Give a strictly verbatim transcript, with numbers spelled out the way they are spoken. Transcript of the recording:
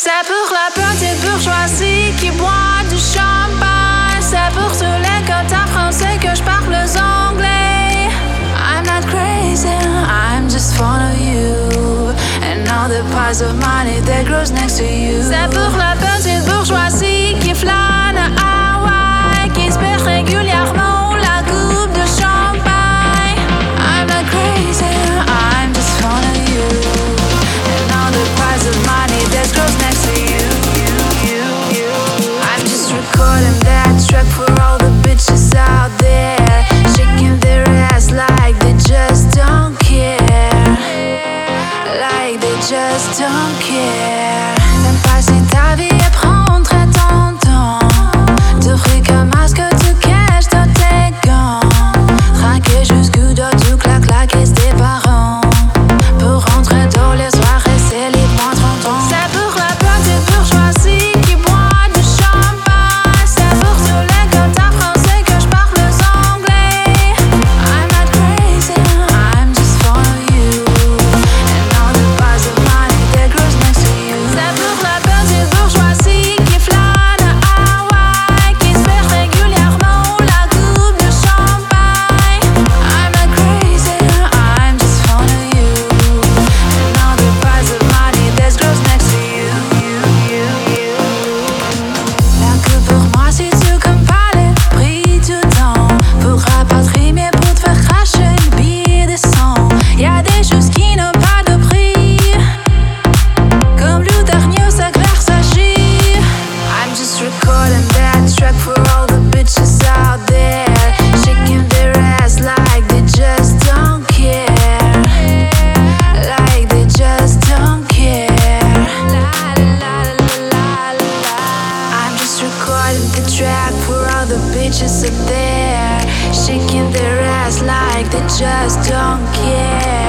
C'est pour la petite bourgeoisie qui boit du champagne. C'est pour tous les quotas français que je parle anglais. I'm not crazy, I'm just fond of you. And all the piles of money that grows next to you. C'est pour la petite bourgeoisie qui flâne à Hawaï, qui espère régulièrement la coupe de champagne. I'm not crazy, I'm just fond of you. And all the piles of money that grows next to you. I'm just recording that track for all the bitches out there, shaking their ass like they just don't care. Like they just don't care. T'aimes passer ta vie et prendre ton temps. T'offrir comme à ce que tu caches dans tes gants. Traquer jusqu'où doit tout clac claquer tes parents. Pour rentrer dans les soirées, c'est les moins trente ans. C'est pour la petite bourgeoisie qui boit du champagne. C'est pour tous les quotas français que je parle anglais. I'm not crazy, I'm just fond of you. And all the piles of money that grows next to you. C'est pour la petite bourgeoisie qui flâne à Hawaï, qui espère régulièrement la coupe de champagne. I'm not crazy, I'm just fond of you. And all the piles of money that grows next to you. La coupe pour moi c'est tout comme palais, pris tout temps. Pour rapatrier mais pour te faire cracher le billet des cent. Y'a des choses qui n'ont pas de prix, comme le dernier sac Versace. I'm just recording that track for all the bitches out there, shaking their ass like they just don't care. Like they just don't care. I'm just recording the track for all the bitches out there, shaking their ass like they just don't care.